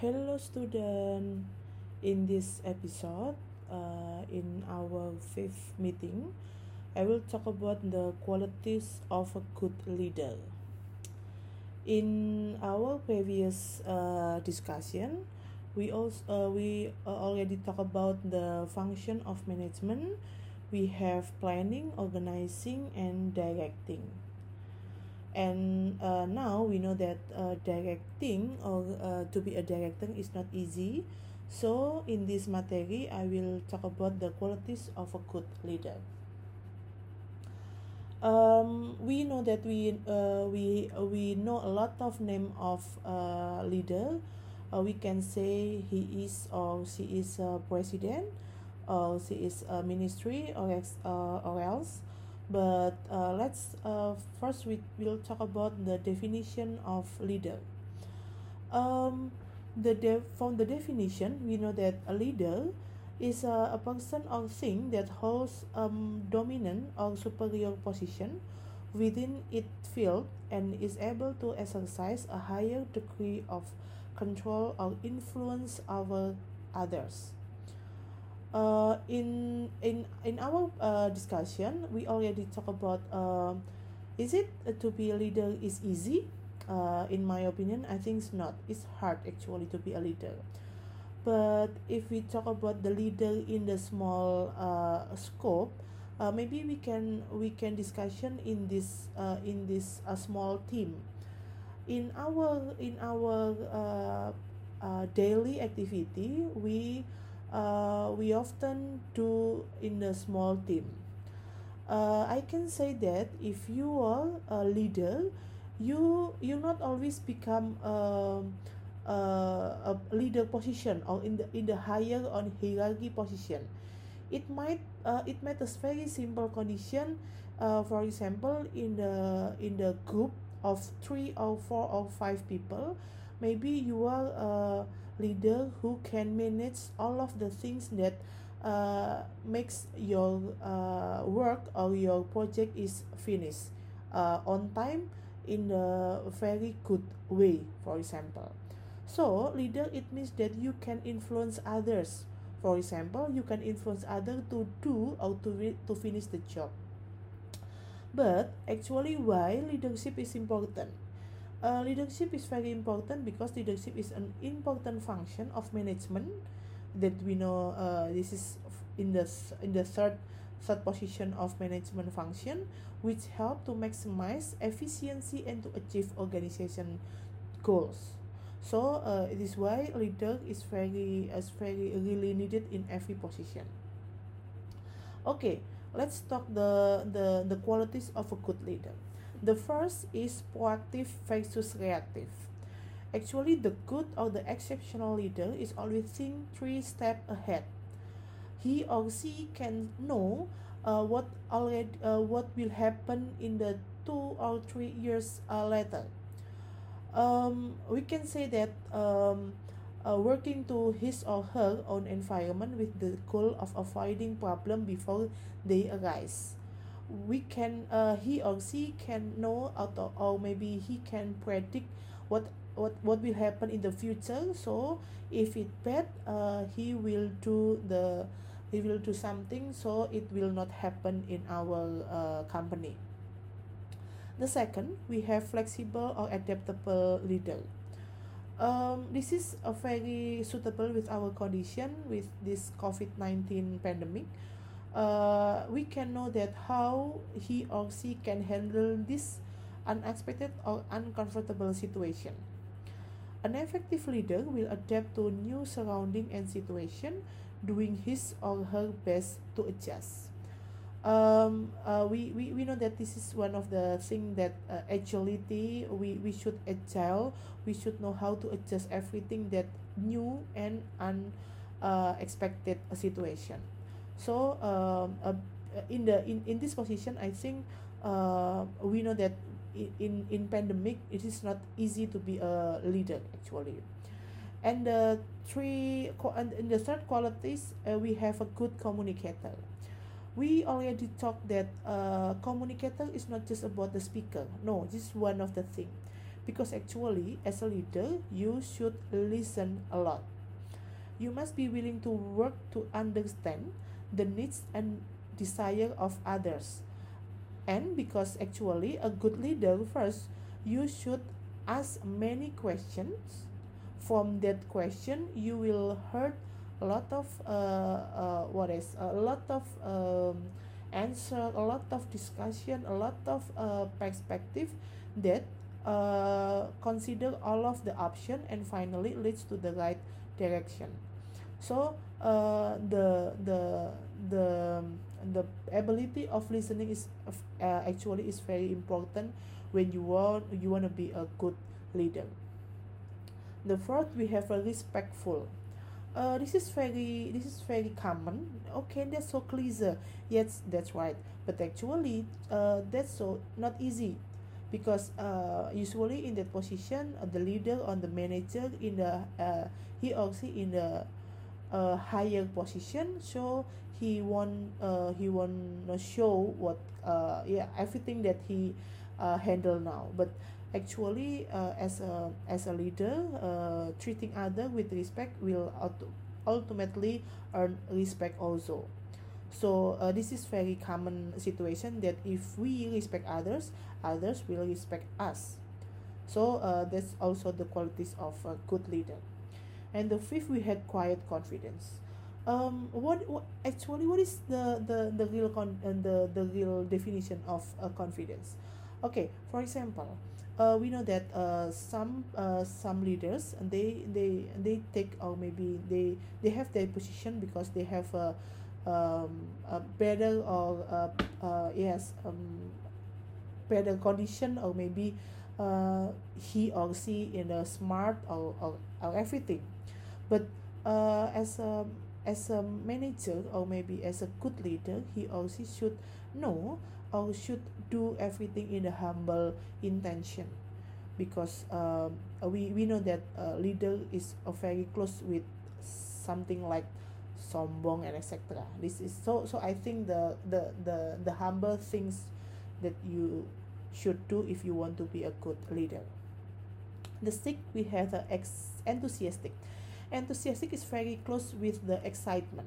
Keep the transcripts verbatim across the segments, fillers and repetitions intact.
Hello, student. In this episode, uh, in our fifth meeting, I will talk about the qualities of a good leader. In our previous uh, discussion, we also uh, we uh, already talk about the function of management. We have planning, organizing, and directing. And uh, now we know that uh, directing or uh, to be a director is not easy. So in this material I will talk about the qualities of a good leader. Um, we know that we uh, we uh, we know a lot of name of uh, leader. Uh, we can say he is or she is a president, or she is a ministry, or ex, uh, or else. But uh, let's uh, first we will talk about the definition of leader. Um, the de- from the definition, we know that a leader is a, a person or thing that holds a um, dominant or superior position within its field and is able to exercise a higher degree of control or influence over others. Uh, in in in our uh, discussion, we already talk about uh, is it uh, to be a leader is easy? Uh, in my opinion, I think it's not. It's hard actually to be a leader. But if we talk about the leader in the small uh, scope, uh, maybe we can we can discussion in this uh, in this uh, small team. In our in our uh, uh, daily activity, we uh, we often do in a small team. Uh, I can say that if you are a leader, you you not always become um, uh, a leader position or in the in the higher on hierarchy position. It might uh, it might a very simple condition. Uh, for example, in the in the group of three or four or five people, maybe you are a leader who can manage all of the things that uh, makes your uh, work or your project is finished uh, on time in a very good way, for example. So leader, it means that you can influence others. For example, you can influence others to do or to, re- to finish the job. But actually, why leadership is important? Uh, leadership is very important because leadership is an important function of management that we know. Uh, this is in the in the third third position of management function, which help to maximize efficiency and to achieve organization goals. So uh, it is why leader is very is very really needed in every position. Okay, let's talk the the the qualities of a good leader. The first is proactive versus reactive. Actually, the good or the exceptional leader is always think three steps ahead. He or she can know uh, what already uh, what will happen in the two or three years uh, later. Um, we can say that um, uh, working to his or her own environment with the goal of avoiding problem before they arise. We can uh, he or she can know out of, or maybe he can predict what what what will happen in the future. So if it bad, uh, he will do the he will do something so it will not happen in our uh, company. The second, we have flexible or adaptable leader. Um, this is a very suitable with our condition with this COVID nineteen pandemic. Uh, we can know that how he or she can handle this unexpected or uncomfortable situation. An effective leader will adapt to new surrounding and situation, doing his or her best to adjust. Um, uh, we, we, we know that this is one of the thing that uh, agility, we, we should agile, we should know how to adjust everything that new and unexpected uh, situation. So um, uh, in the in, in this position, I think uh, we know that in in pandemic it is not easy to be a leader actually. And the three and in the third qualities, uh, we have a good communicator. We already talked that uh, communicator is not just about the speaker. No, this is one of the thing. because actually as a leader you should listen a lot. You must be willing to work to understand the needs and desire of others. And because actually a good leader, first you should ask many questions. From that question you will heard a lot of uh, uh, what is a lot of um, answer, a lot of discussion, a lot of uh, perspective that uh, consider all of the option and finally leads to the right direction. So uh, the the the the ability of listening is uh, actually is very important when you want you want to be a good leader. The fourth, we have a respectful. Uh, this is very this is very common. Okay, that's so cliche. Yes, that's right. But actually, uh, that's so not easy, because uh, usually in that position, uh, the leader or the manager in the uh, he or she in the uh, higher position, so he won't uh, he won't uh, show what uh, yeah everything that he uh, handle now. But actually uh, as a as a leader, uh, treating other with respect will auto- ultimately earn respect also. So uh, this is very common situation that if we respect others, others will respect us. So uh, that's also the qualities of a good leader. And the fifth, we had quiet confidence. Um, what, what actually what is the the the real con uh, the the real definition of uh, confidence? Okay, for example, uh, we know that uh, some uh, some leaders, and they they they take, or maybe they they have their position because they have a um, a better or uh, uh, yes um, better condition, or maybe uh, he or she in a smart or, or, or everything. But uh, as a as a manager, or maybe as a good leader, he or she should know or should do everything in a humble intention, because um, we, we know that uh, leader is uh, very close with something like sombong and etc. This is so so I think the the the the humble things that you should do if you want to be a good leader. The sixth, we have the ex- enthusiastic. Enthusiastic is very close with the excitement.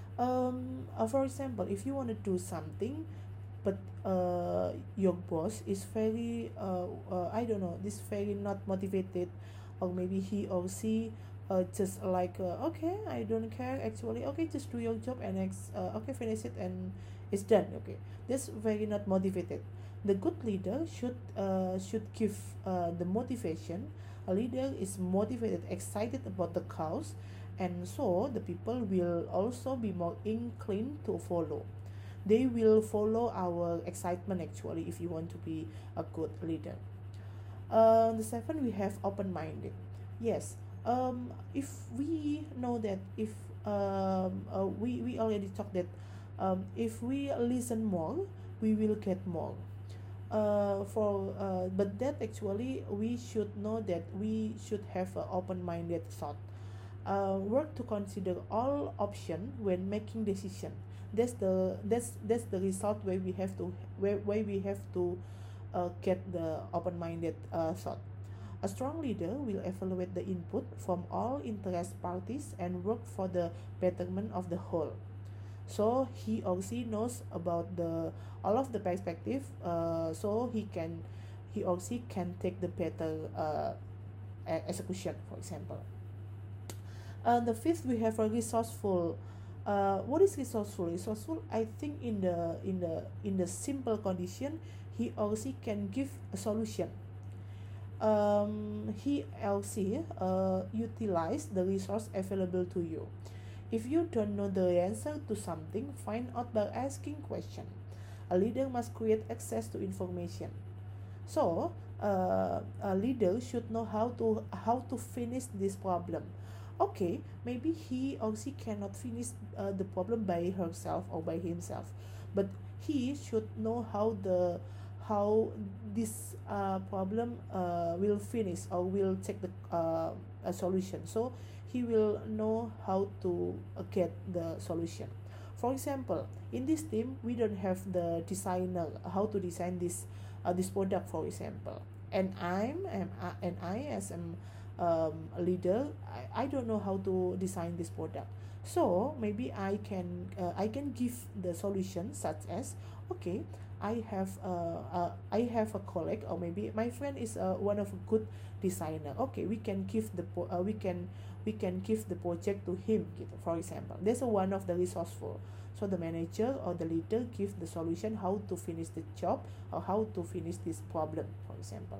Um, uh, for example, if you want to do something, but uh, your boss is very uh, uh, I don't know, this very not motivated, or maybe he or she uh, just like uh, okay, I don't care actually, okay, just do your job and ex- uh, okay, finish it and it's done. Okay, that's very not motivated. The good leader should uh, should give uh, the motivation. A leader is motivated, excited about the cause, and so the people will also be more inclined to follow. They will follow our excitement actually if you want to be a good leader. Uh, the seven, we have open-minded. Yes, um, if we know that if um, uh, we, we already talked that um, if we listen more, we will get more. Uh, for uh, but that actually we should know that we should have an open-minded thought. Uh, work to consider all option when making decision. That's the that's that's the result where we have to where, where we have to uh, get the open-minded uh, thought. A strong leader will evaluate the input from all interest parties and work for the betterment of the whole. So he or she knows about the all of the perspective, uh, so he can he or she can take the better uh, e- execution, for example. Uh, the fifth, we have a resourceful. Uh, what is resourceful? Resourceful, I think in the in the in the simple condition, he or she can give a solution. Um, he or she uh, utilize the resource available to you. If you don't know the answer to something, find out by asking question. A leader must create access to information. So, uh, a leader should know how to how to finish this problem. Okay, maybe he or she cannot finish uh, the problem by herself or by himself, but he should know how the how this uh, problem uh, will finish or will take the uh, a solution. So he will know how to uh, get the solution. For example, in this team, we don't have the designer how to design this uh, this product, for example. and I'm and I, and I as an um, a leader, I, I don't know how to design this product. So maybe I can uh, I can give the solution such as, okay, I have uh, uh, I have a colleague, or maybe my friend is uh, one of a good designer. Okay, we can give the po- uh, we can we can give the project to him gitu, for example. That's a one of the resourceful. So the manager or the leader give the solution how to finish the job or how to finish this problem, for example.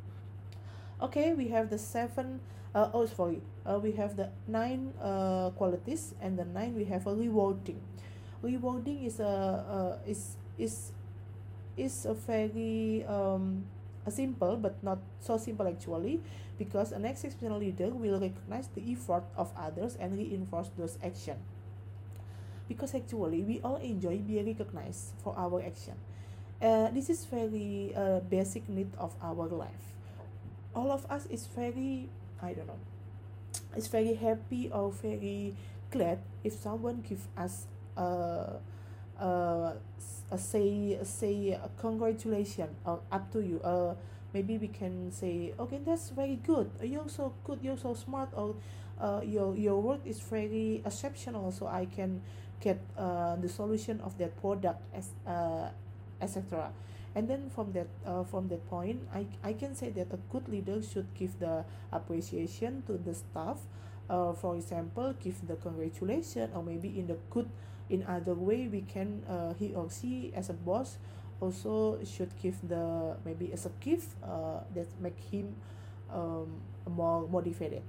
Okay, we have the seven. Uh, oh, sorry. Uh, we have the nine uh, qualities, and the nine we have a rewarding. Rewarding is a uh, is is is a very um, a simple but not so simple actually, because an exceptional leader will recognize the effort of others and reinforce those action. Because actually we all enjoy being recognized for our action. Uh, this is very uh, basic need of our life. All of us is very, I don't know, is very happy or very glad if someone give us a uh, uh, say say uh, congratulation or up to you. Uh, maybe we can say, okay, that's very good. Uh, You're so good. You're so smart. Or uh, your your work is very exceptional. So I can get uh, the solution of that product as uh, et cetera. And then from that uh, from that point, I, I can say that a good leader should give the appreciation to the staff. Uh, for example, give the congratulation, or maybe in the good in other way we can uh, he or she as a boss also should give the maybe as a gift uh, that make him um, more motivated.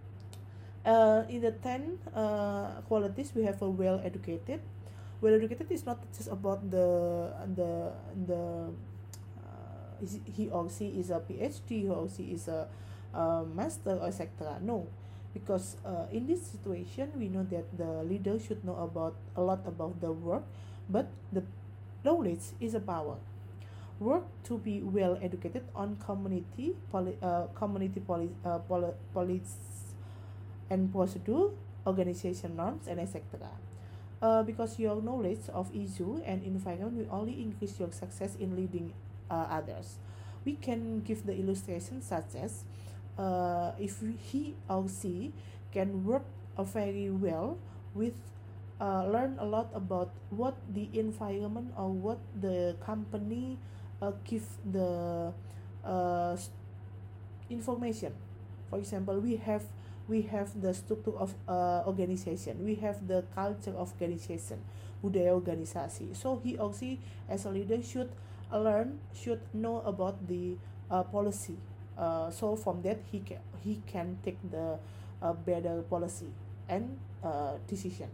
Uh, in the ten uh, qualities we have a well educated. Well educated is not just about the the the uh, is he or she is a PhD, he or she is a, a master or etc. No, because uh, in this situation we know that the leader should know about a lot about the work, but the knowledge is a power. Work to be well educated on community poli- uh, community poli- uh, poli- policy and procedure, organization norms, and et cetera. Uh, because your knowledge of issue and environment will only increase your success in leading uh, others. We can give the illustration such as uh, if he or she can work uh, very well with uh, learn a lot about what the environment or what the company uh, give the uh, information. For example, we have we have the structure of uh, organization, we have the culture of organization, budaya organisasi. So he or she as a leader should uh, learn, should know about the uh, policy. Uh, so from that he can he can take the uh, better policy and uh, decision.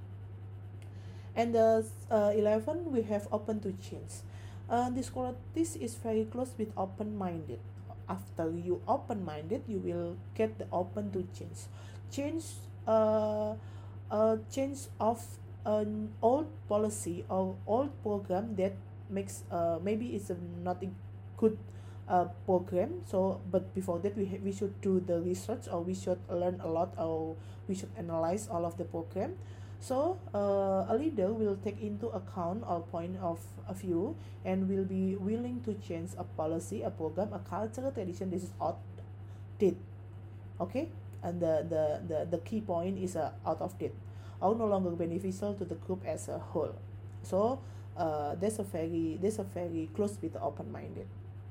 And the uh, eleven we have open to change. Uh, this qualities is very close with open minded. After you open minded, you will get the open to change. Change uh, uh change of an old policy or old program that makes uh maybe it's a not a good uh program. So but before that we ha- we should do the research, or we should learn a lot, or we should analyze all of the program. So uh, a leader will take into account our point of view and will be willing to change a policy, a program, a cultural tradition. This is outdated. Okay, and the the the, the key point is uh, out of date or no longer beneficial to the group as a whole. So uh, that's a very that's a very close with open-minded.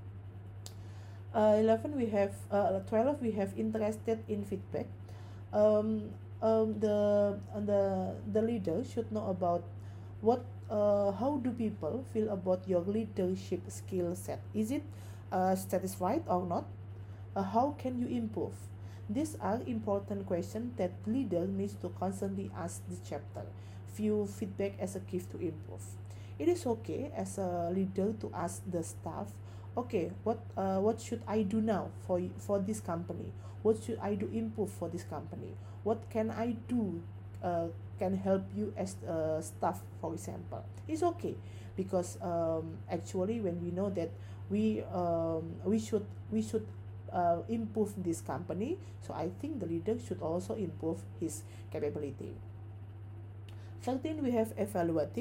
Uh, eleven we have uh, twelve we have interested in feedback. um, um, the uh, the the leader should know about what uh, how do people feel about your leadership skill set. Is it uh, satisfied or not? Uh, how can you improve? These are important questions that leader needs to constantly ask this chapter. View feedback as a gift to improve. It is okay as a leader to ask the staff, okay, what uh, what should I do now for for this company? What should I do improve for this company? What can I do uh, can help you as a staff, for example? It's okay because um, actually when we know that we um, we should we should uh, improve this company, so I think the leader should also improve his capability. thirteen we have evaluative.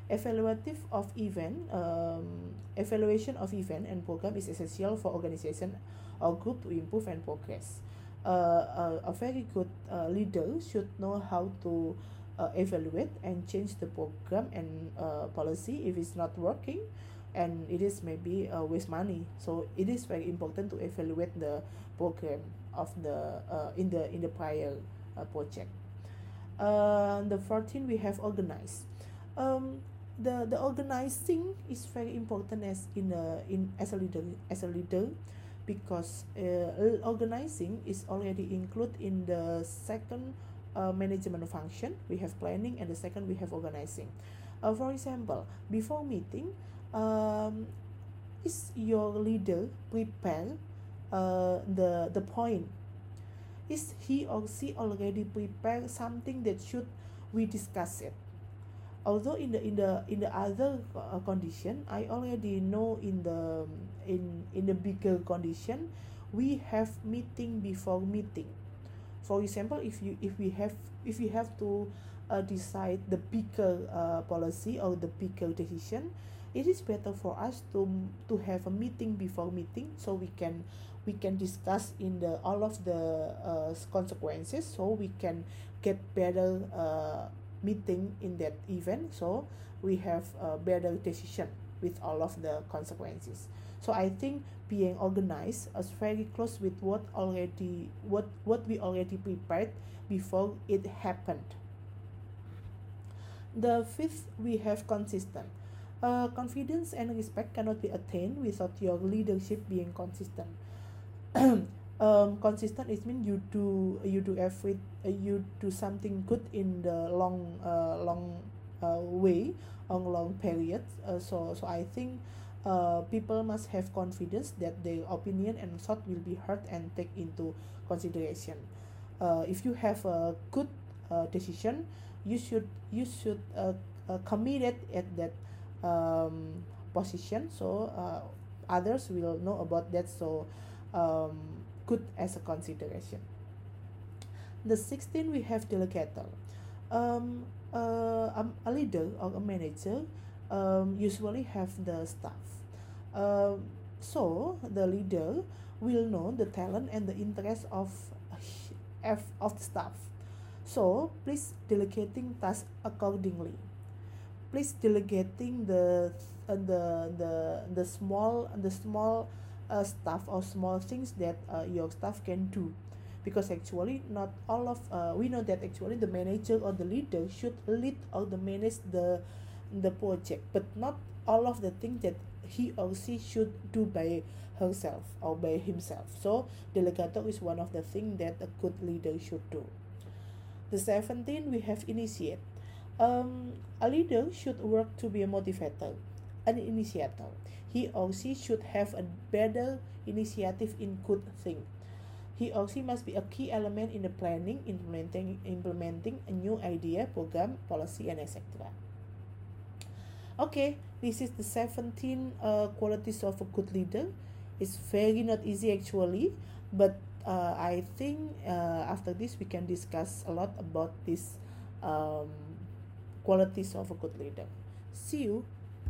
Evaluative of event, um, evaluation of event and program is essential for organization or group to improve and progress. Uh, a, a very good uh, leader should know how to uh, evaluate and change the program and uh, policy if it's not working, and it is maybe uh, waste money. So it is very important to evaluate the program of the uh, in the in the prior uh, project. Uh, the fourteen we have organize. Um, the the organizing is very important as in a in as a leader as a leader because uh, organizing is already included in the second uh, management function. We have planning, and the second we have organizing. Uh, for example, before meeting, um, is your leader prepare uh, the the point? Is he or she already prepared something that should we discuss it? Although in the in the in the other uh, condition, I already know in the in in the bigger condition, we have meeting before meeting. For example, if you if we have if we have to uh, decide the bigger uh, policy or the bigger decision, it is better for us to to have a meeting before meeting, so we can we can discuss in the all of the uh, consequences, so we can get better uh, meeting in that event, so we have a better decision with all of the consequences. So I think being organized is very close with what already what what we already prepared before it happened. The fifth we have consistent. Uh, confidence and respect cannot be attained without your leadership being consistent. um, consistent is mean you do you do every uh, you do something good in the long uh, long uh, way on long periods. Uh, so so I think uh, people must have confidence that their opinion and thought will be heard and take into consideration. Uh, if you have a good uh, decision, you should you should uh, uh, commit it at that um, position, so uh, others will know about that, so um, good as a consideration. The sixteen we have delegator. Um, uh, um, a leader or a manager um, usually have the staff. Um, so the leader will know the talent and the interest of of, of the staff. So please delegating tasks accordingly. Please delegating the uh, the the the small the small uh, stuff or small things that uh, your staff can do, because actually not all of uh, we know that actually the manager or the leader should lead or the manage the the project, but not all of the things that he or she should do by herself or by himself. So delegator is one of the things that a good leader should do. The seventeen we have initiate. Um, a leader should work to be a motivator, an initiator. He or she should have a better initiative in good thing. He or she must be a key element in the planning, implementing, implementing a new idea, program, policy, and et cetera. Okay, this is the seventeen uh, qualities of a good leader. It's very not easy actually, but uh, I think uh, after this we can discuss a lot about these um, qualities of a good leader. See you.